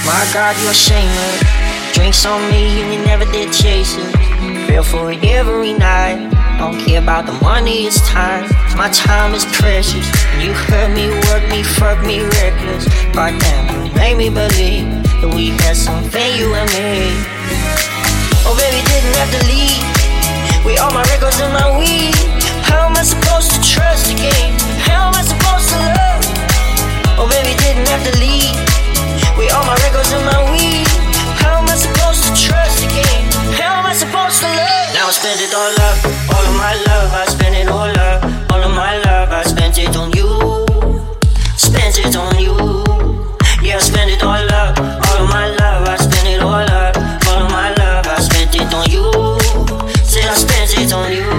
My God, you're shameless. Drinks on me and you never did chase it. Feel for it every night. Don't care about the money, it's time. My time is precious. You hurt me, work me, fuck me reckless. Goddamn, you made me believe that we had something, you and me. Oh baby, didn't have to leave. We all my records and my weed. How am I supposed to trust again? How am I supposed to love? Oh baby, didn't have to leave. We all my records and my weed. How am I supposed to trust again? How am I supposed to love? Now I spent it all up, all of my love. I spent it all up, all of my love. I spent it on you, spent it on you. Yeah, I spent it all up, all of my love. I spent it all up, all of my love. I spent it on you. Said I spent it on you.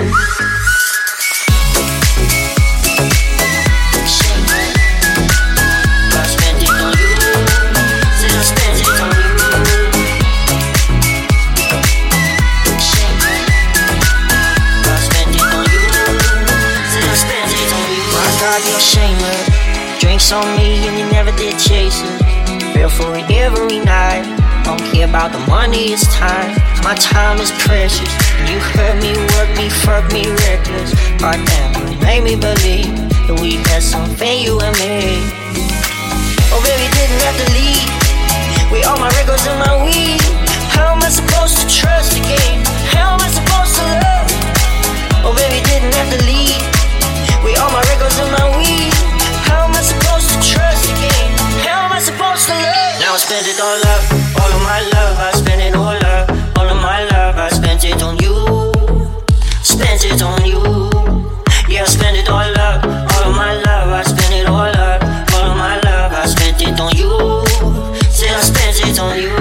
You're shameless. Drinks on me and you never did chase it. Feel for it every night. Don't care about the money, it's time. My time is precious. You hurt me, work me, fuck me reckless. Goddamn, you made me believe that we had something, you and me. Oh baby, didn't have to leave. We all my records and my weed. How am I supposed to trust again? How am I supposed to love? Oh baby, didn't have to leave. We all my records and my weed. How am I supposed to trust again? How am I supposed to love? Now I spent it all up, all of my love. I spent it all up, all of my love. I spent it on you, spent it on you. Yeah, I spent it all up, all of my love. I spent it all up, all of my love. I spent it on you. Said I spent it on you.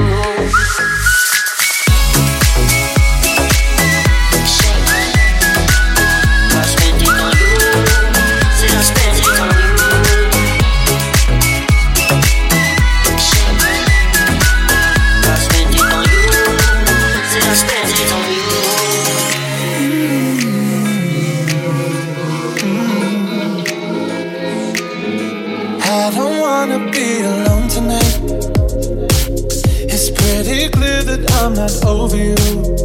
I'm not over you.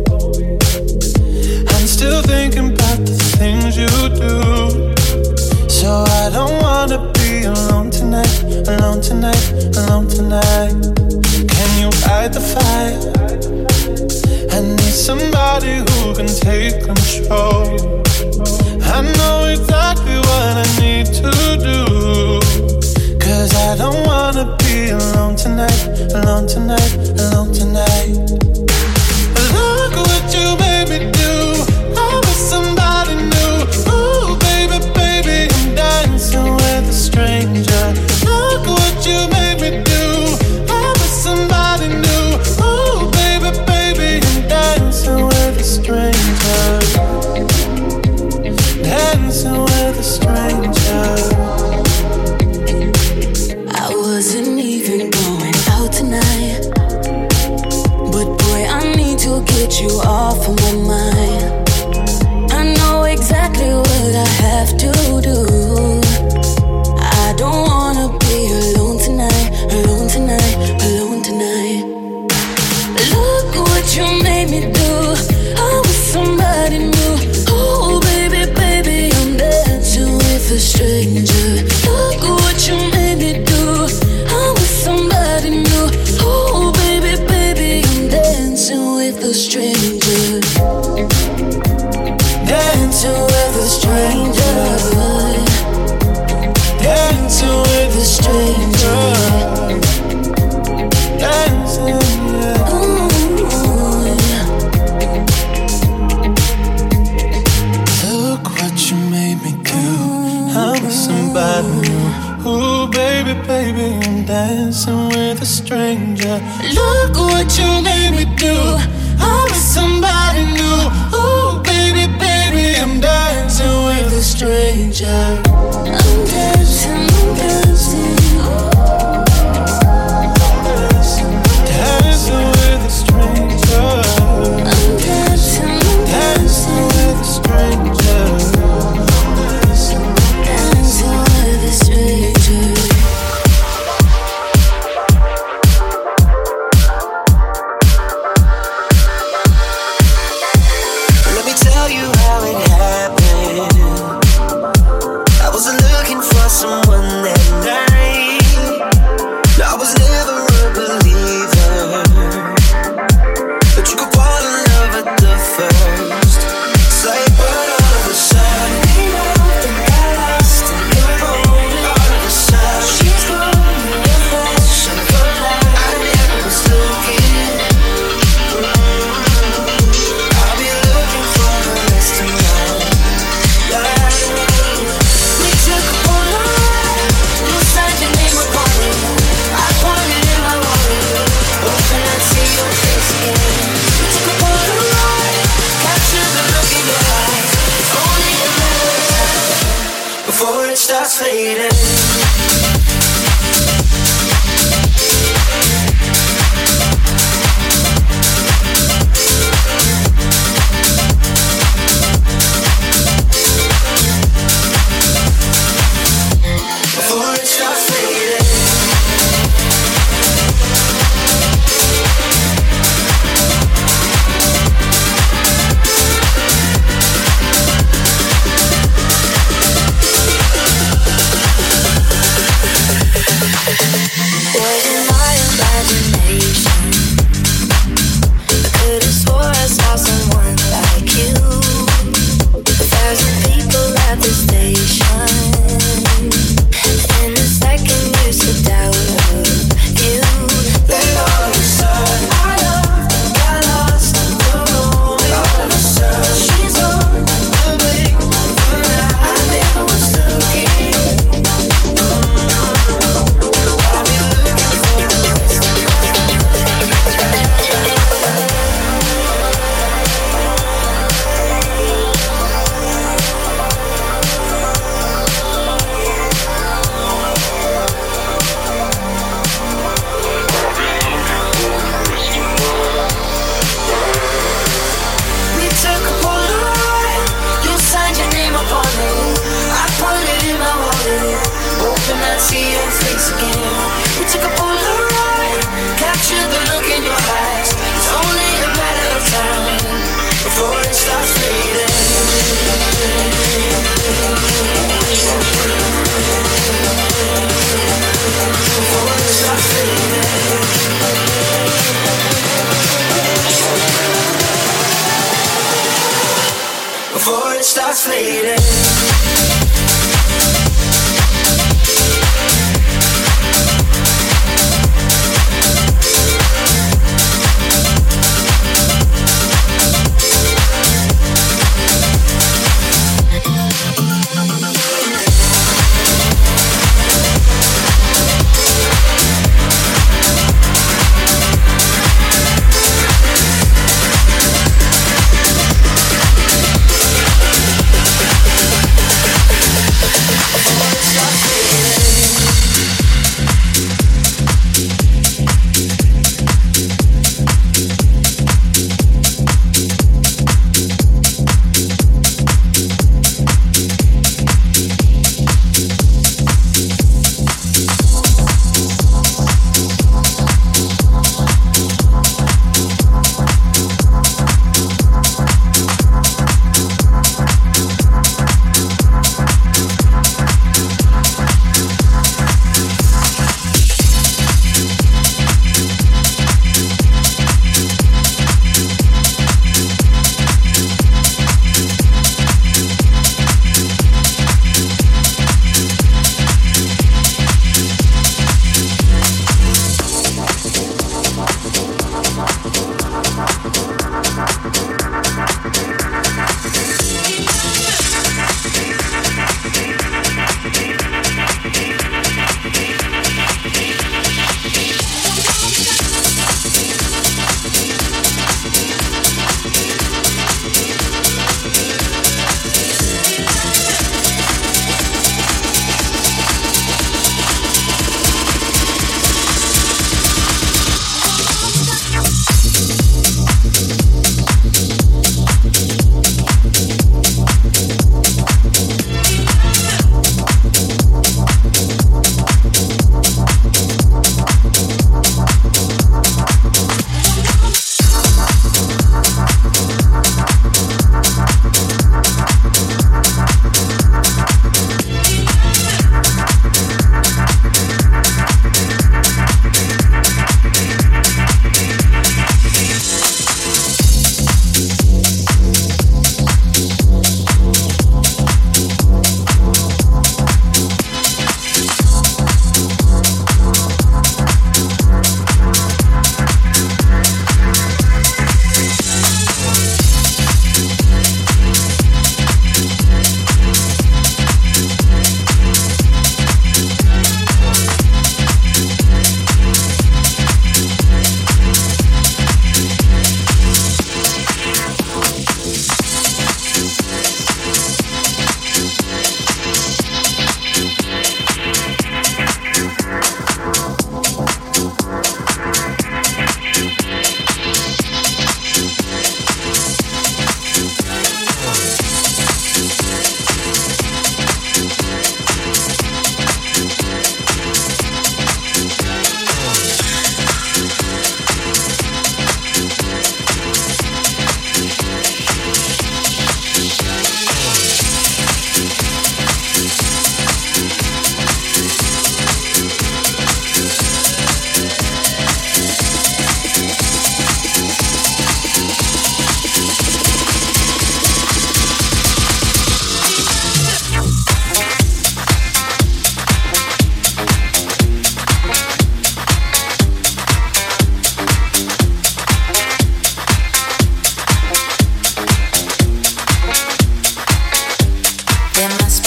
I'm still thinking about the things you do. So I don't wanna be alone tonight, alone tonight, alone tonight. Can you fight the fire? I need somebody who can take control. I know exactly what I need to do. Cause I don't wanna be alone tonight, alone tonight, alone tonight. Look what you made me do. I was somebody new. Ooh, baby, baby, I'm dancing with a stranger. Look what you made me do. I was somebody new. Ooh, baby, baby, I'm dancing with a stranger. Dancing with a stranger. Wasn't even going out tonight, but boy, I need to get you off of my mind. I know exactly what I have to do. I don't wanna be alone tonight, alone tonight, alone tonight. Look what you made me do. I was somebody new. Oh baby, baby, I'm dancing with a stranger. Look what you made me do. Somebody new. Oh baby, baby, I'm dancing with a stranger. Dancing with a stranger. Dancing with a stranger. Dancing, yeah. Ooh, yeah. Look what you made me do. I was somebody new. Ooh, baby, baby, I'm dancing with a stranger. Look what you made me do. I was somebody new. Ooh, baby, baby, I'm dancing with a stranger. I'm dancing, I'm dancing. Dancing with a stranger. I'm dancing, I'm dancing with a stranger. Dancing with a stranger. before it starts fading. Before it starts fading. Wasn't my imagination? I could've swore I saw someone like you. 1,000 people at the station, and the second you said doubt of you, Then all of a sudden our love got lost in the room. All of a sudden she's on the blink of an eye. I never was looking. I'll be looking for the rest of my We took a Polaroid, you signed your name upon it. I put it in my wallet, hoping I'd see your face again. We took a Polaroid, captured the look in your eyes. It's only a matter of time before it starts fading. Before it starts fading. Before it starts fading.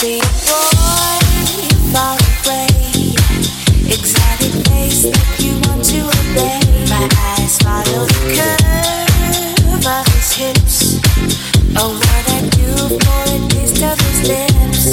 see a boy far away, exotic face that you want to obey. My eyes follow the curve of his hips. Oh, what I do for a taste of his lips.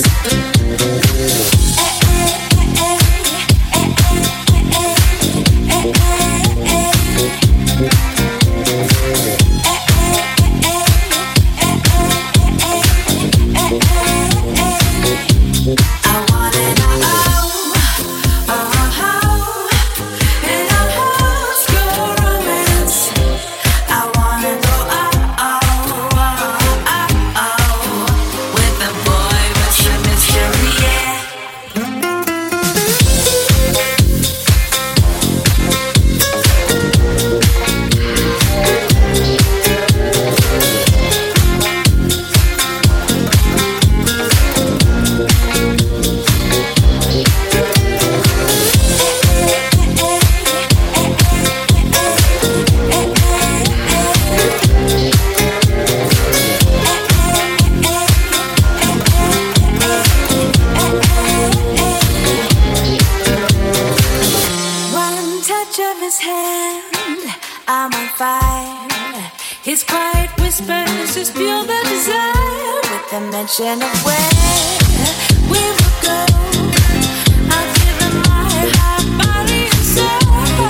Mention of where we will go. I'll give them my heart, body, and soul.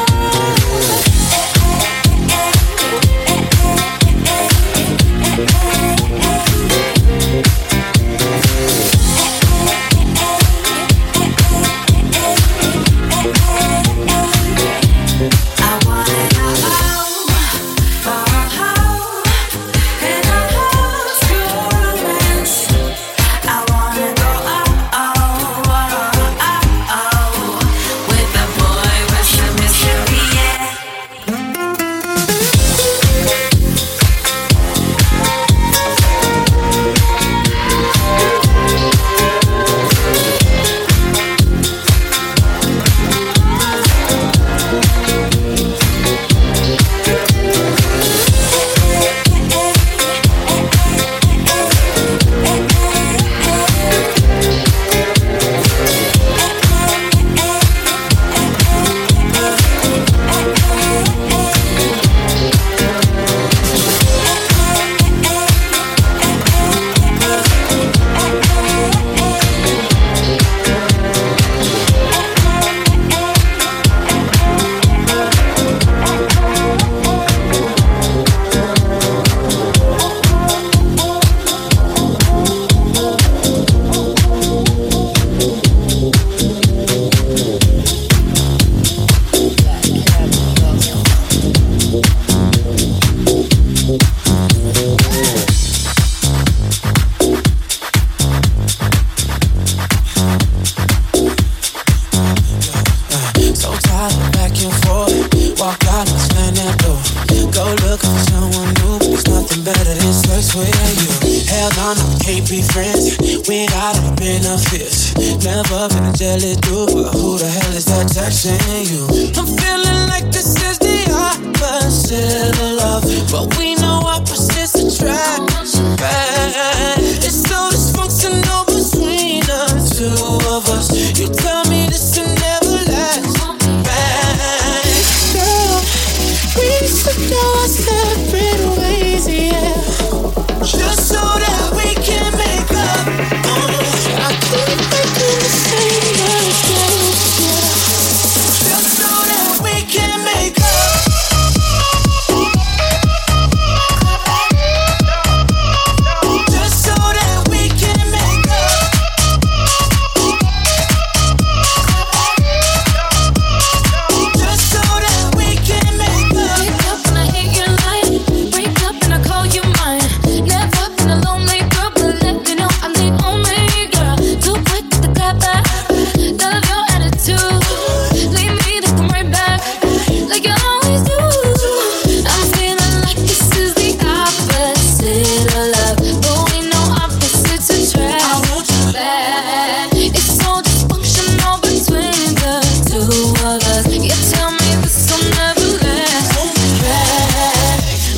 I wanna know.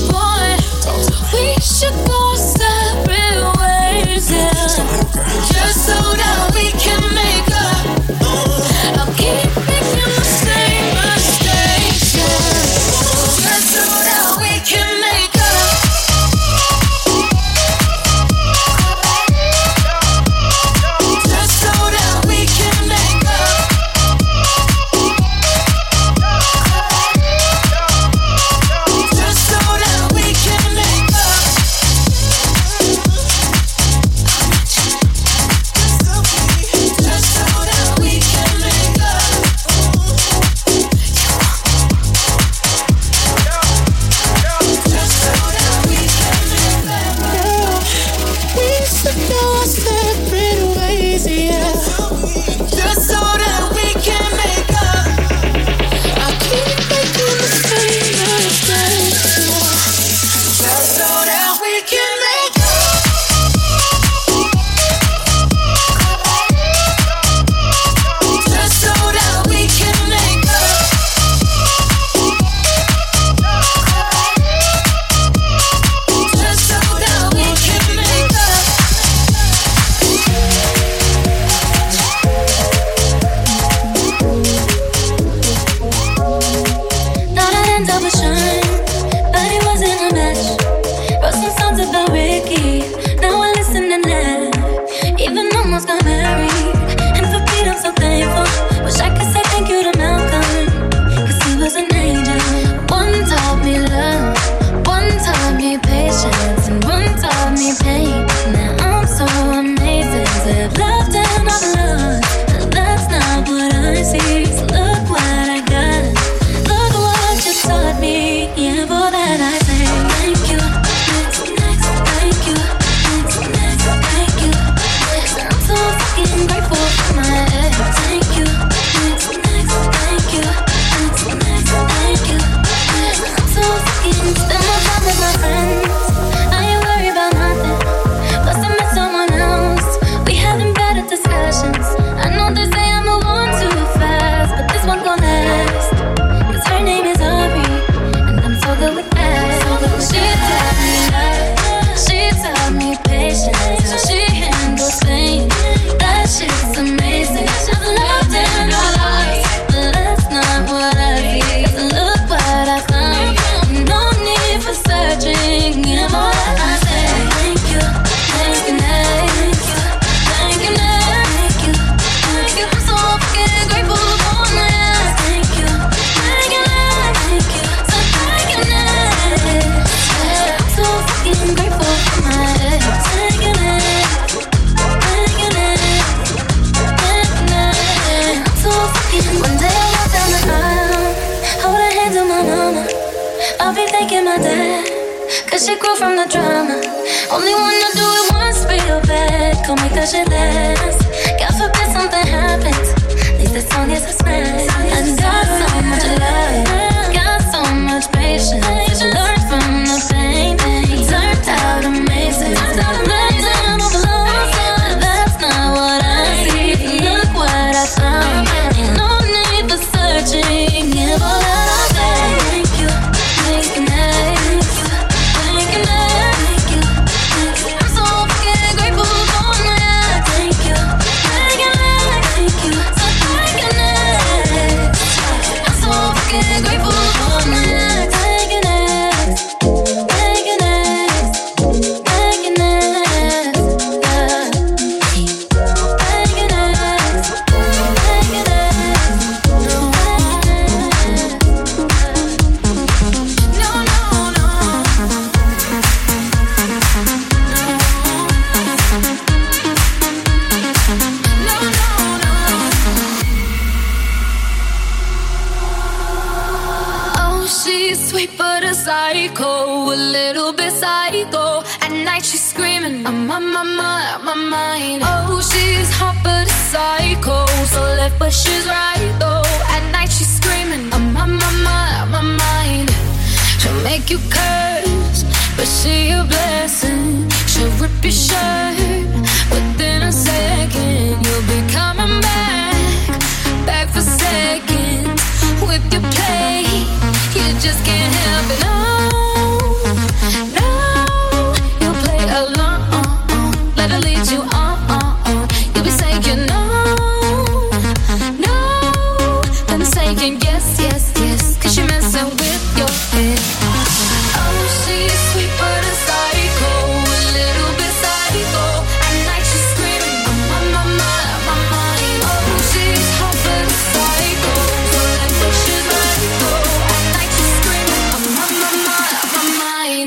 Just fucking grateful for my ex. Thank you, next, thank you, next, thank you. I'm so fucking spend more time with my friends. I ain't worried about nothing. Plus I met someone else. We having better discussions. I know they say I move on too fast, but this one gon' last. 'Cause her name is Aubrey, and I'm so good with that. She taught me love, she taught me patience, how she handles pain. That shit's amazing. I've loved in our lives, but that's not what I see. 'Cause look what I found. No need for searching. Give all that I say. Thank you, thank you, thank you, thank you, thank you, thank you. I'm so fucking grateful for my ass. Thank you, thank you, thank you, so thank you, I'm so fucking grateful for my ex. Thank you, thank you, I'm so fucking. One day I walk down the aisle, hold her hand to my mama. I'll be thanking my dad, 'cause she grew from the drama. Only wanna do it once real bad, gon' make that shit last. God forbid something happens, at least this song is a smash. I got so much love, got so much patience. Learned from the pain, turned out amazing. Blazing overload, but that's not what I see. Look what I found, ain't no need for searching. Give all that I say. Thank you, thank you, thank you, thank you, thank you. I'm so fucking grateful for my ex. Thank you, thank you, thank you, so thank you, I'm so fucking grateful for my ex. Thank you, thank you, thank you, Oh, she's sweet but a psycho, a little bit psycho. At night she's screaming, I'm on my mind. Oh, she's hot but a psycho, so left but she's right though. At night she's screaming, I'm on my mind. She'll make you curse, but she a blessing. She'll rip your shirt within a second. You'll be coming back for seconds with your play. You just can't help it. No, you play along. Let her lead you on. You'll be saying no, then saying yes, 'cause you're messing with your head. Oh, she's sweet but a psycho, a little bit psycho. At night she's screaming, I'm on my mind. Oh, she's hot but a psycho, so let me she's right go. At night she's screaming, I'm on my mind.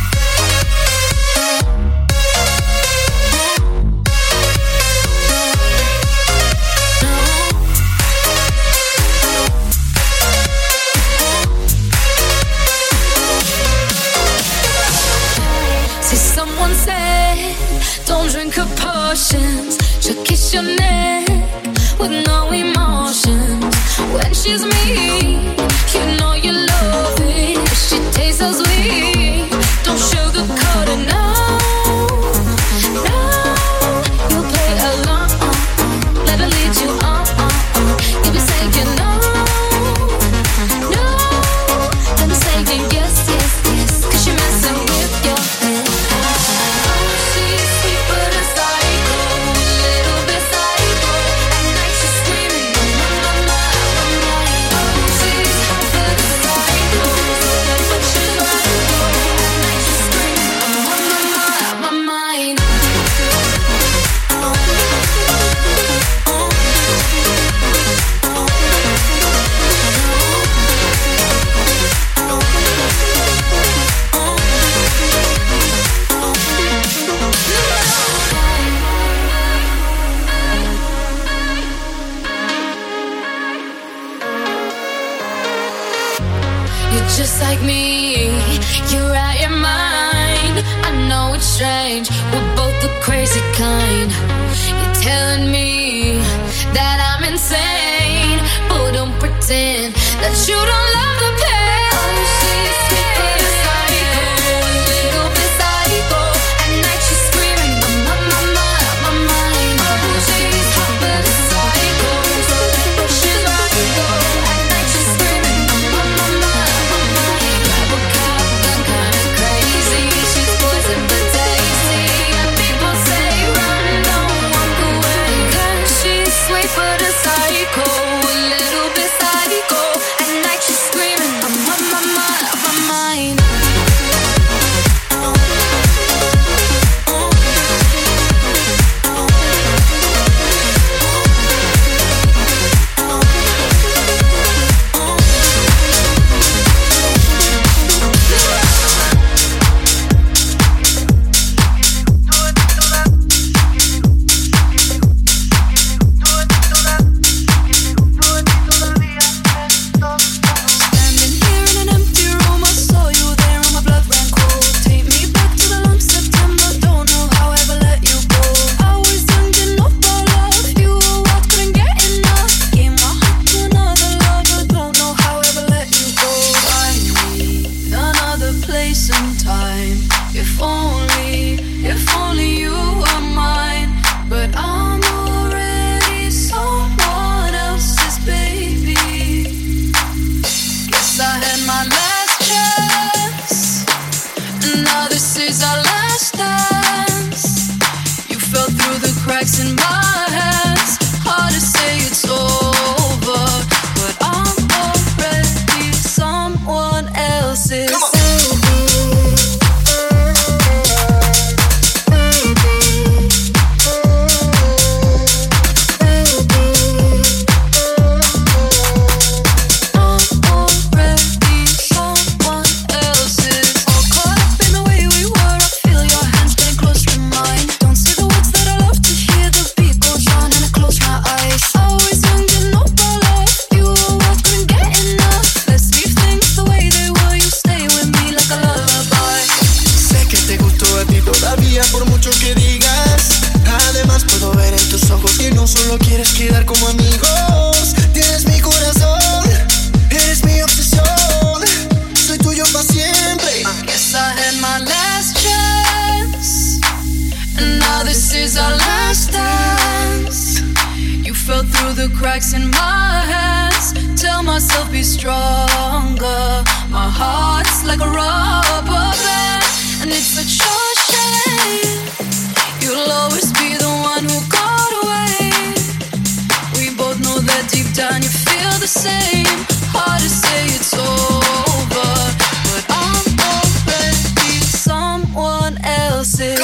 See, someone said, don't drink her potions. She'll kiss your neck with no emotions. When she's mean, you know you love it. If she tastes so sweet, don't sugarcoat it, no. You play along, let her lead you on. You'll be saying no, then saying yes, 'cause you're messing with your head. She's sweet but a psycho, a little bit psycho. At night she's screaming, I'm on my mind. She's hot but a psycho, but she's right go. At night she's screaming, I'm on my mind. You're just like me, you're out your mind. I know it's strange, we're both the crazy kind. You're telling me cracks in my hands. Hard to say it's over, but I'm already someone else's. Cracks in my hands. Tell myself be stronger. My heart's like a rubber band, and it's such a shame. You'll always be the one who got away. We both know that deep down you feel the same. Hard to say it's over, but I'm already someone else's.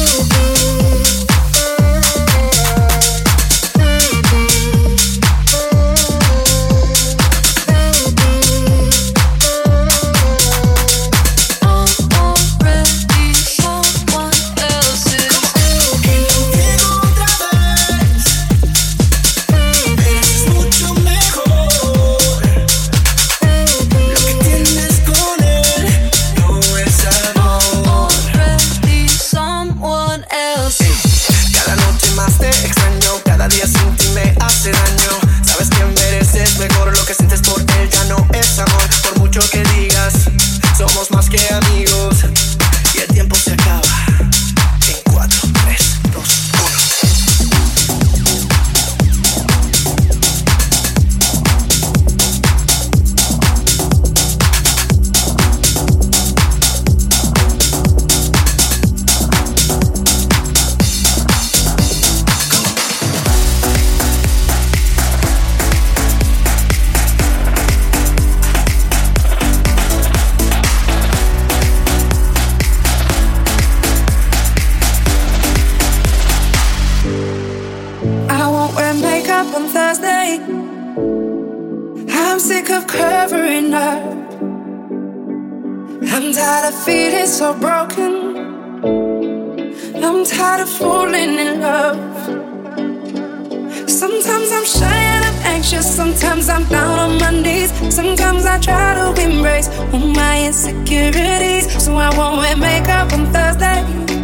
So broken, I'm tired of falling in love. Sometimes I'm shy and I'm anxious, sometimes I'm down on my knees. Sometimes I try to embrace all my insecurities, so I won't wear makeup on Thursday,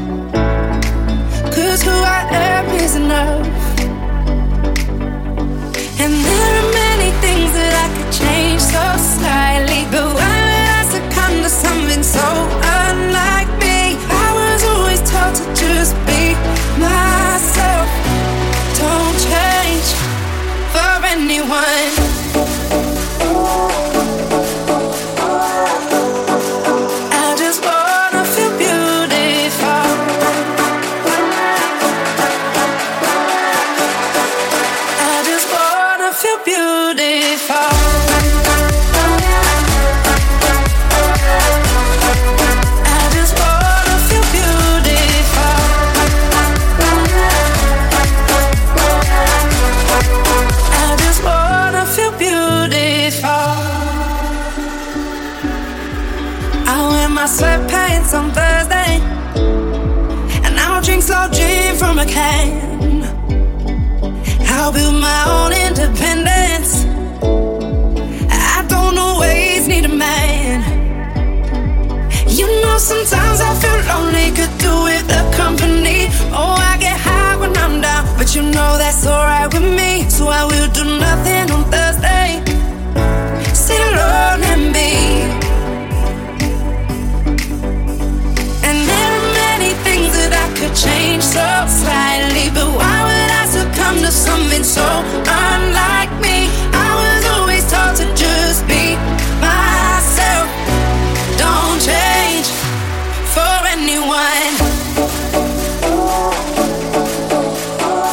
'cause who I am is enough. And there are many things that I could change so slightly, but why would I succumb to something so unlike me? I was always taught to just be myself. Don't change for anyone. I just wanna feel beautiful. I just wanna feel beautiful. My sweatpants on Thursday, and I'll drink slow gin from a can. I'll build my own independence. I don't always need a man. You know, sometimes I feel lonely, could do with the company. Oh, I get high when I'm down, but you know that's alright with me. So I will do nothing on Thursday. Sit alone and be. Could change so slightly, but why would I succumb to something so unlike me? I was always taught to just be myself. Don't change for anyone.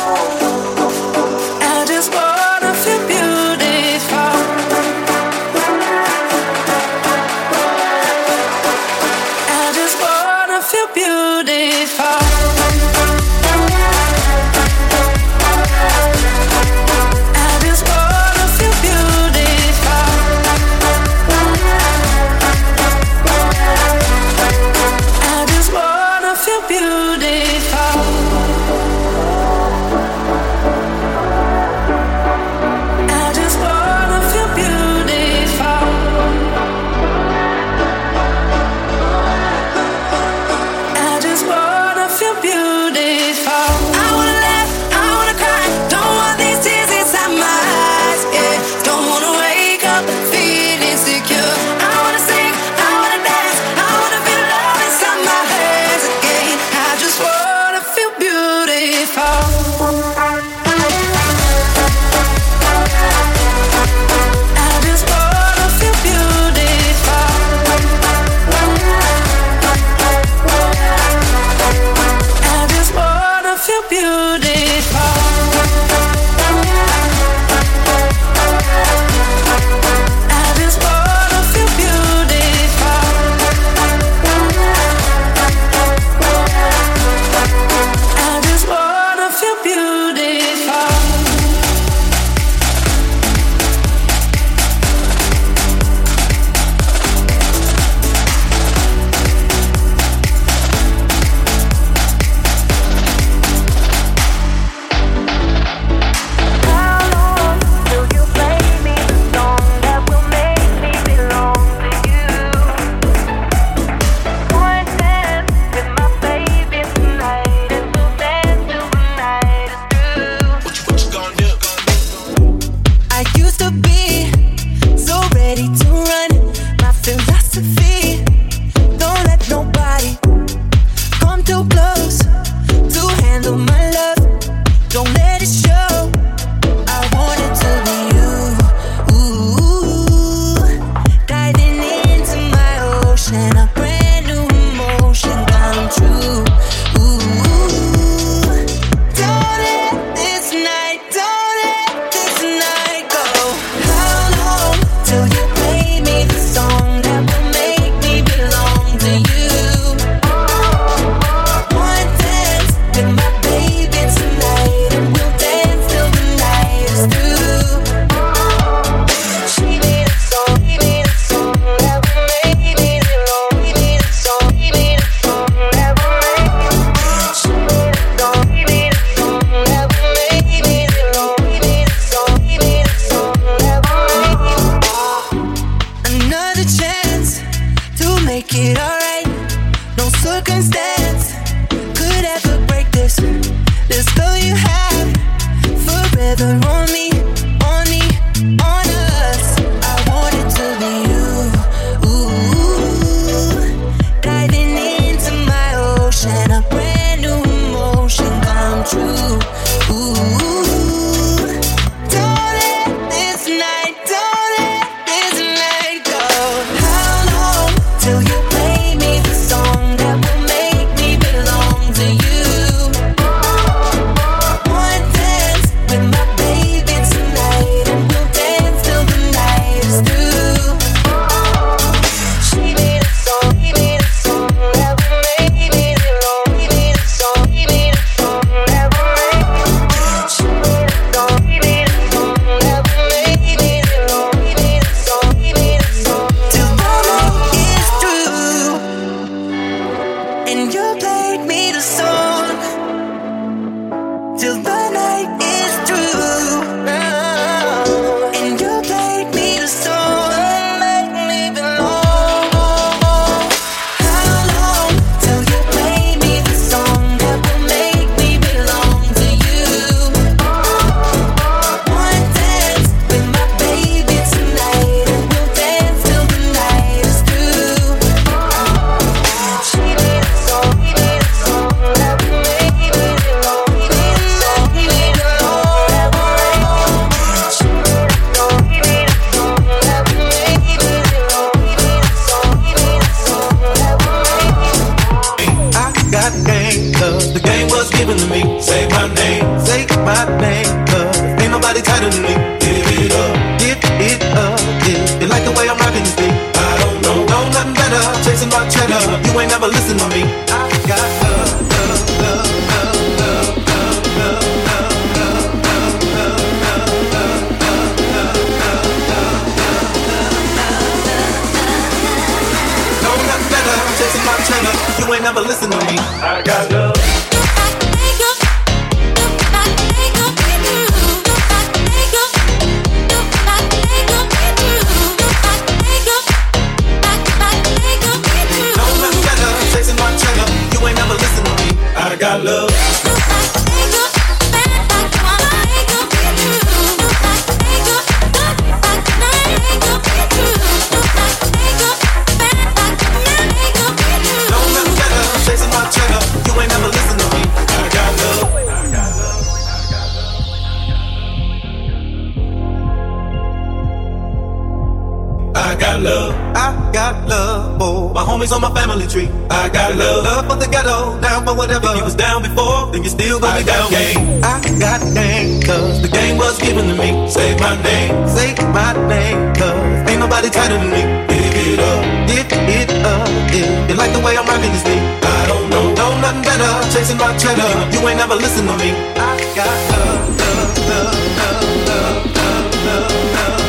got love. I got love for my homies on my family tree. I got love. Love for the ghetto, down for whatever. If you was down before, then you still gonna be down. Game. I got game, cause the game was given to me. Say my name, cause ain't nobody tighter than me. Give it up, if you like the way I'm rocking this beat. I don't know nothing better, chasing my cheddar. You ain't never listen to me. I got love, love, love, love, love, love, love, love.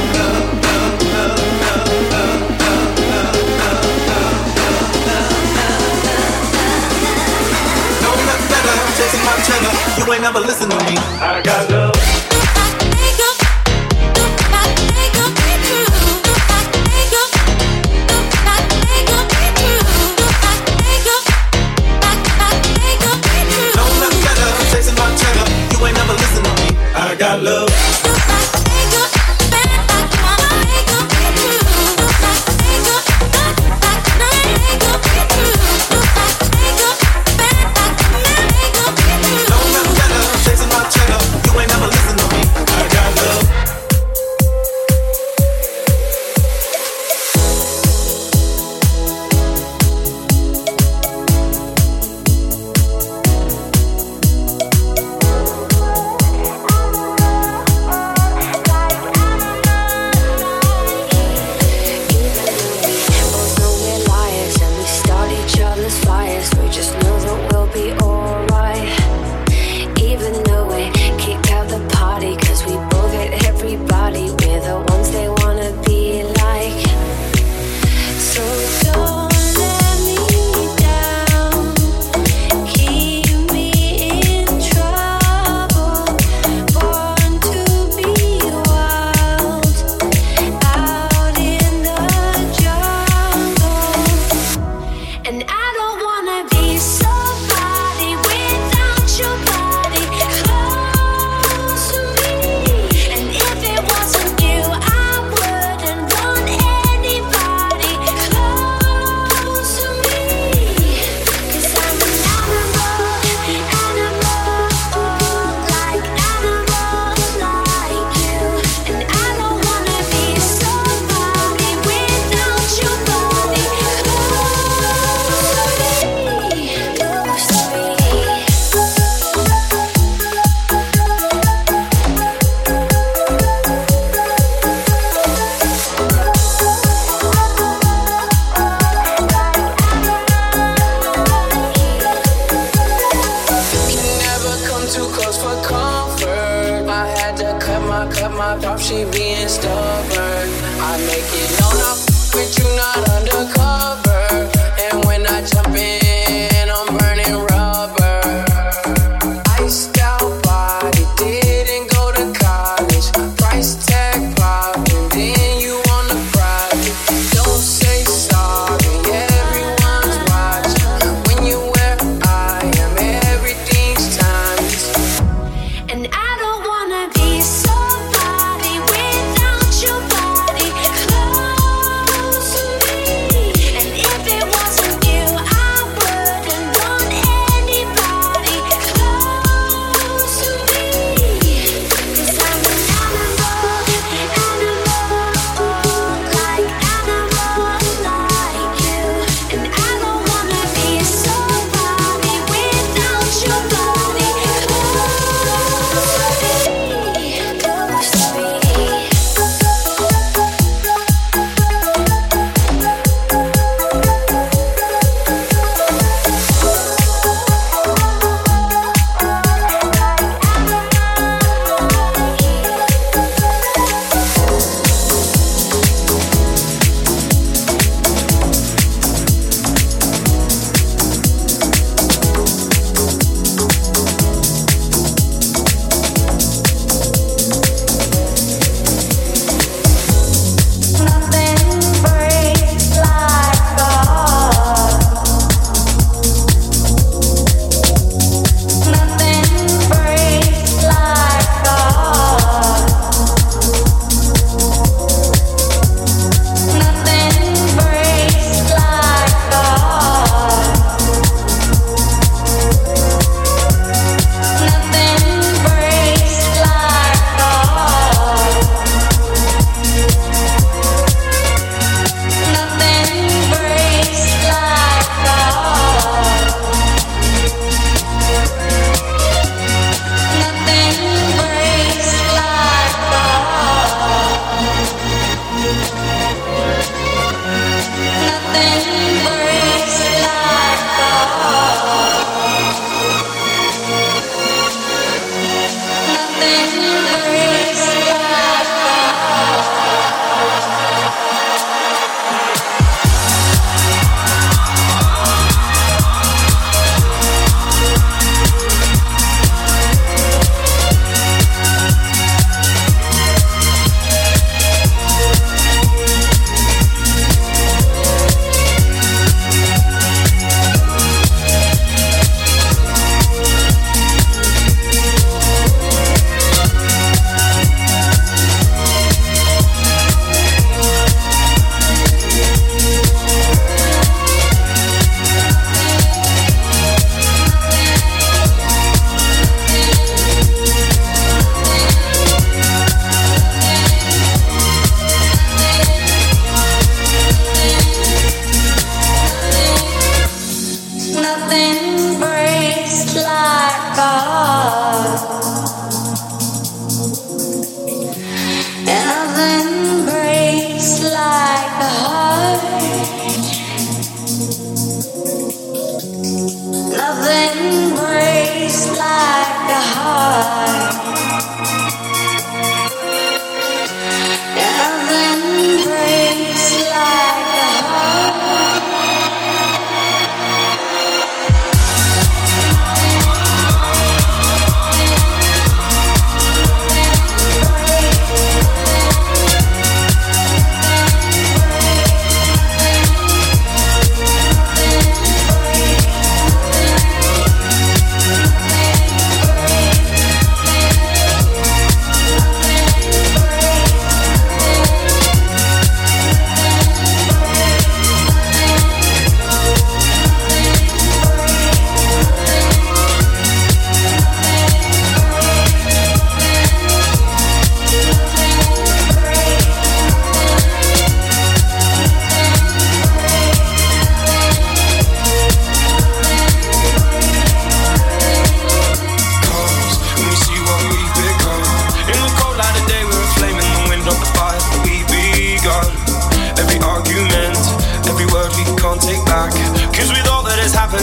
Chasing my cheddar, you ain't never listen to me. I got love. No nothing better, chasing my cheddar, you ain't never listen to me. I got love. Close to me, and if it wasn't you, I would.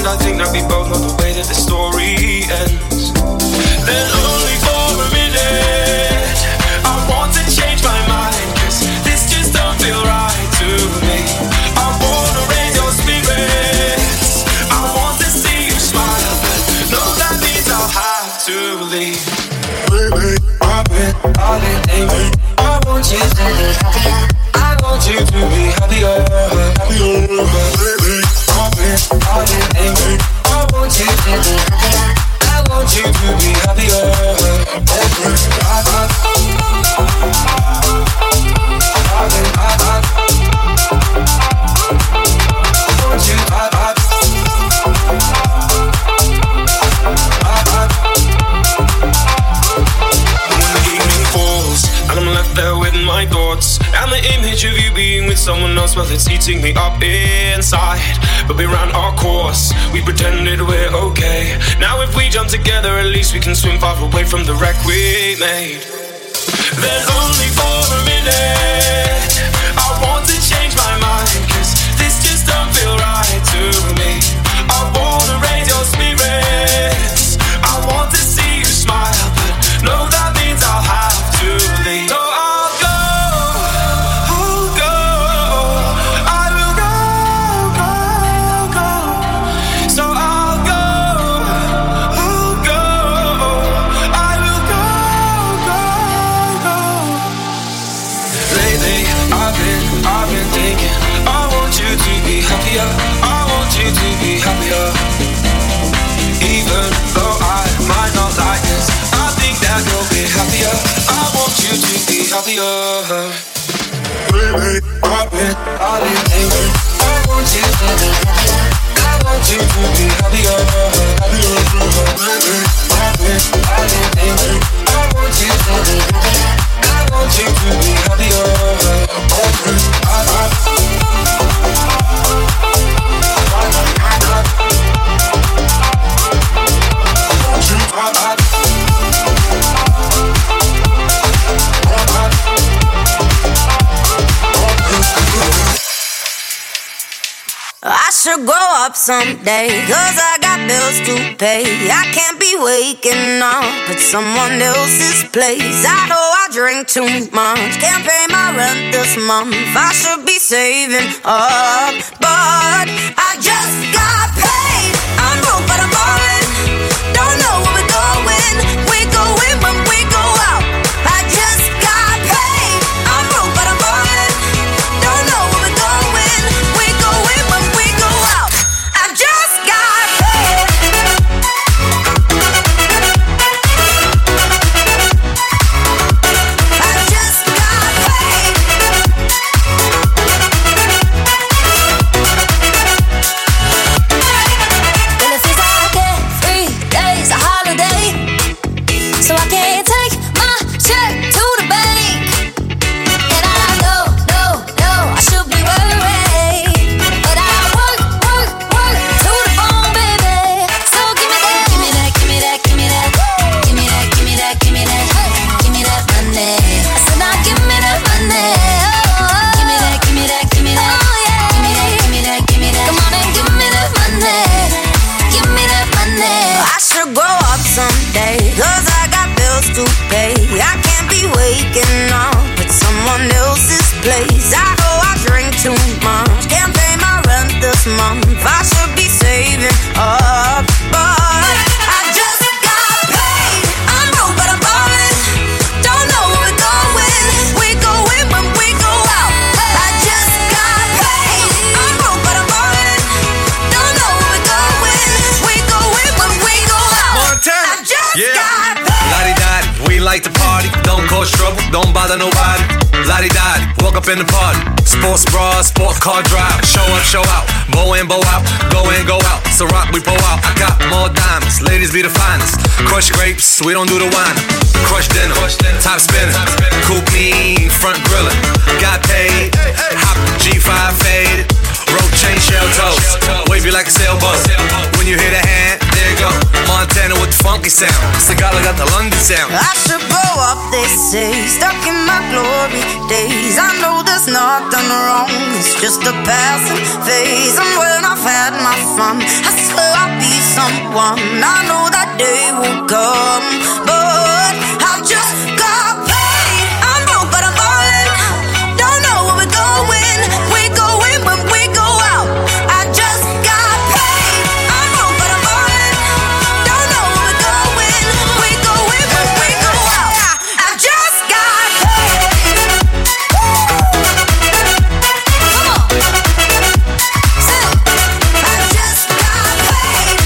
And I think that we both know the way that the story ends. Then only for a minute I want to change my mind, 'cause this just don't feel right to me. I wanna raise your spirits, I want to see you smile, but no, that means I'll have to leave. Baby, I've been angry. I want you to be happier, I want you to be happier, happier. Baby, I've been angry. I want you to be happier, I want you to be happier. My thoughts and the image of you being with someone else, well, it's eating me up inside. But we ran our course, we pretended we're okay. Now if we jump together, at least we can swim far away from the wreck we made. Then only for a minute I want to change my mind, 'cause this just don't feel right to me. I wanna raise your spirits, I want to see you smile, but no, that means I'll have to leave. So I want you to be happier. Even though I might not like this, I think that you'll be happier. I want you to be happier. Baby, I've been angry. I want you to be happier, I want you to be happier, happier. Baby, I've been angry. I want you to be happier, I want you to be happier. I should grow up someday, 'cause I got bills to pay. I can't be waking up at someone else's place. I know I drink too much, can't pay my rent this month. I should be saving up, but I just got paid. I'm broke but I'm ballin', don't know where we're going. We go in when we go out. I just got paid. I'm broke but I'm ballin', don't know where we're going. We go in when we go out. I just got paid. I just got paid. Well, it feels like every day's a holiday, so I can't take my check to the bank. And I know, I should be worried, but I work to the bone, baby. So give me that, give me that, give me that, give me that, give me that, give me that, give me that, give me that money. I said now give me that money. Give me that, give me that, give me that. Oh yeah. Give me that, give me that, give me that. Come on and give me that money. Give me that money. I should grow up someday, 'cause I got bills to pay. I can't be waking up at someone else's place. I know I drink too much, can't pay my rent this month. I should be saving up, but I just got paid. I'm broke but I'm ballin', don't know where we're going. We go in when we go out. I just got paid. I'm broke but I'm ballin', don't know where we're going. We go in when we go out. Montana. I just Yeah. got paid. Lottie-dottie, we like to party. Don't cause trouble, don't bother nobody. Lottie-dottie, walk up in the party. Sports bra, sport car drive. Show up, show out. Bow in, bow out. Go in, go out. So rock, we pull out. I got more diamonds. Ladies be the finest. Crush grapes, we don't do the wine. Crush dinner, top spinning. Coupe me, front grillin'. Got paid, hop G5 faded. Rope chain, shell toes. Wave you like a sailboat. When you hear the hand, there you go. Montana with the funky sound. Sagala got the London sound. I should grow up, they say, stuck in my glory days. I know there's nothing wrong, it's just a passing phase. And when I've had my fun, I swear I'll be someone. I know that day will come, but I've just got paid. I'm broke but I'm falling, don't know where we're going. We're going when we go out. I just got paid. I'm broke but I'm falling, don't know where we're going. We're going when we go out. I just got paid. Come on, sing. I just got paid.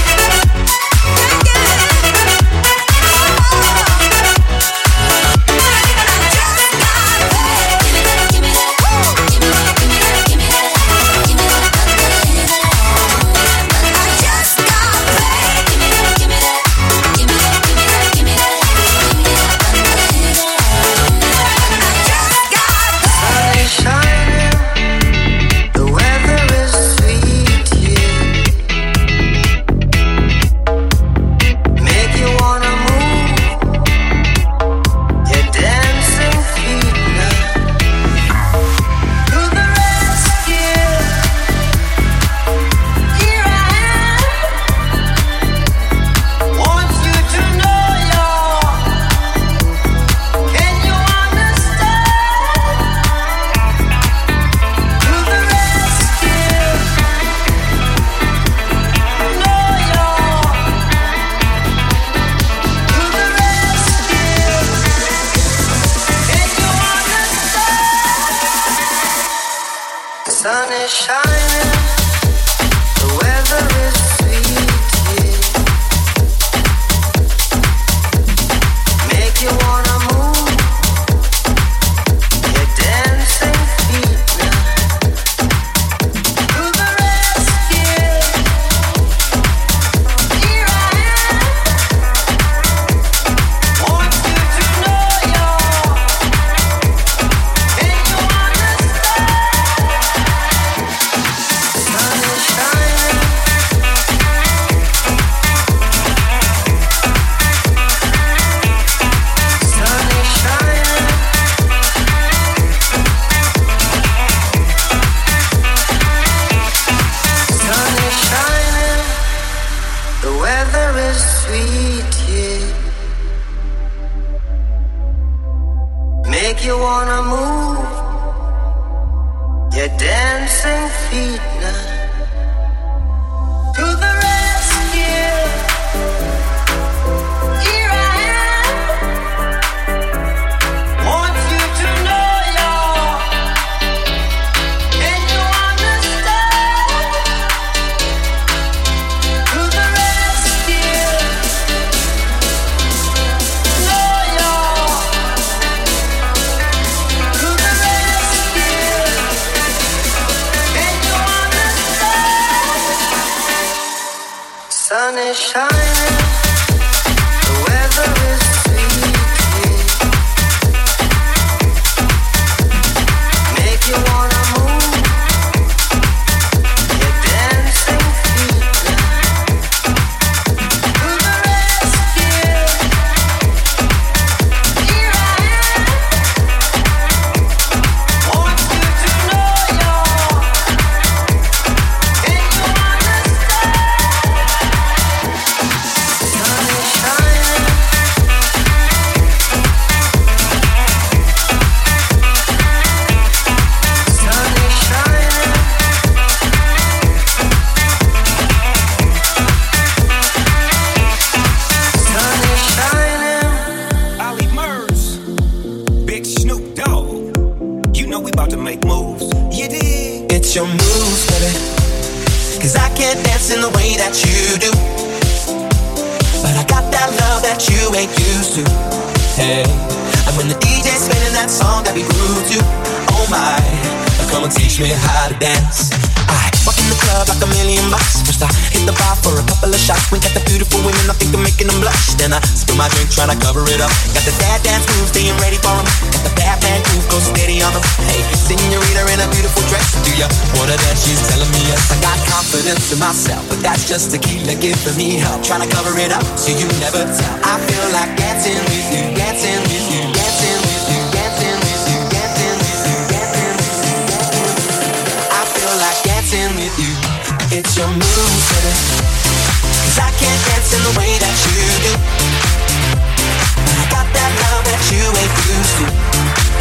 sun is shining, the weather is sweet, yeah. Make you wanna move your dancing feet now. To the rescue, here I am. Want you to know you're, can you understand? Sun is shining. Sun is shining. Sun is shining. The weather is sweet, yeah. Make you wanna move your dancing feet now. To the rescue, here I am. Want you to know you're, can you understand? To the rescue, know you're, to the rescue, can you understand? Sun is shining, the weather is sweet, yeah. Make you wanna move your dancing feet now. To the rescue, here I am. Want you to know you're, can you understand? Sun is shining. Sun is shining. Sun is shining. Ollie Murs, Big Snoop Dogg. You know we about to make moves. You dig? It's your moves, baby. 'Cause I can't dance in the way that you do. But I got that love that you ain't used to. Hey, and when the DJ's spinning that song that we grew to, oh my, come and teach me how to dance. I walk in the club like $1,000,000. First I hit the bar for a couple of shots. Wink at the beautiful women, I think I'm making them blush. Then I spill my drink trying to cover it up. Got the dad dance moves, staying ready for them. Got the bad man groove, go steady on them. Hey, senorita in a beautiful dress. Do ya wanna dance? She's telling me yes. I got confidence in myself, but that's just tequila giving me help. Trying to cover it up so you never tell. I feel like dancing with you, dancing with you.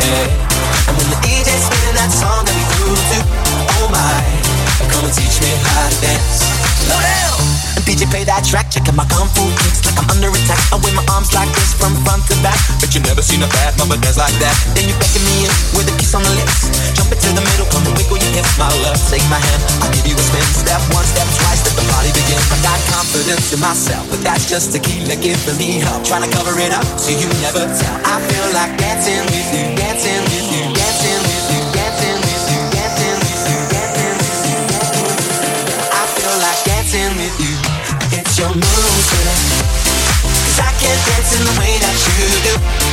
Hey, and when the DJ's spinning that song that we grew to, oh my, come and teach me how to dance. Slow down. DJ play that track, checking my kung fu kicks like I'm under attack. I wave my arms like this from front to back. Bet you never seen a bad mama dance like that. Then you beckon me in with a kiss on the lips. Jump into the middle, come and wiggle your hips. My love, take my hand, I'll give you a spin. Step one, step twice, let the party begin. I got confidence in myself, but that's just tequila giving me help. Trying to cover it up so you never tell. I feel like dancing with you, dancing with you, dancing with you, dancing with you, dancing with you, dancing with you, dancing with you. I feel like dancing with you. It's your moves, baby, 'cause I can't dance in the way that you do.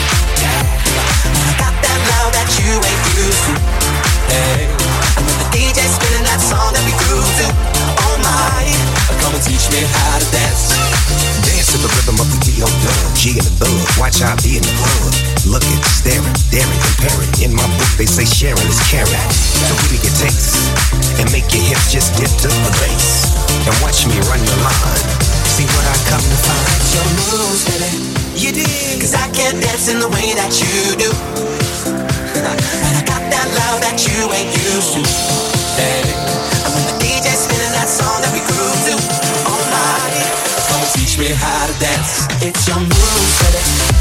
I got that love that you ain't used to. Hey, and when the DJ's spinning that song that we grew to, oh my, come and teach me how to dance. Dance to the rhythm of the D.O.W. G and the thug, watch how I be in the club. Looking, staring, daring, comparing. In my book they say sharing is caring. So give me your taste and make your hips just dip to the bass. And watch me run the line. See what I come to find. It's your moves, baby. You dig? 'Cause I can't dance in the way that you do. And I got that love that you ain't used to. Hey, and when the DJ's spinning that song that we grew to, oh my, come and teach me how to dance. It's your moves, baby.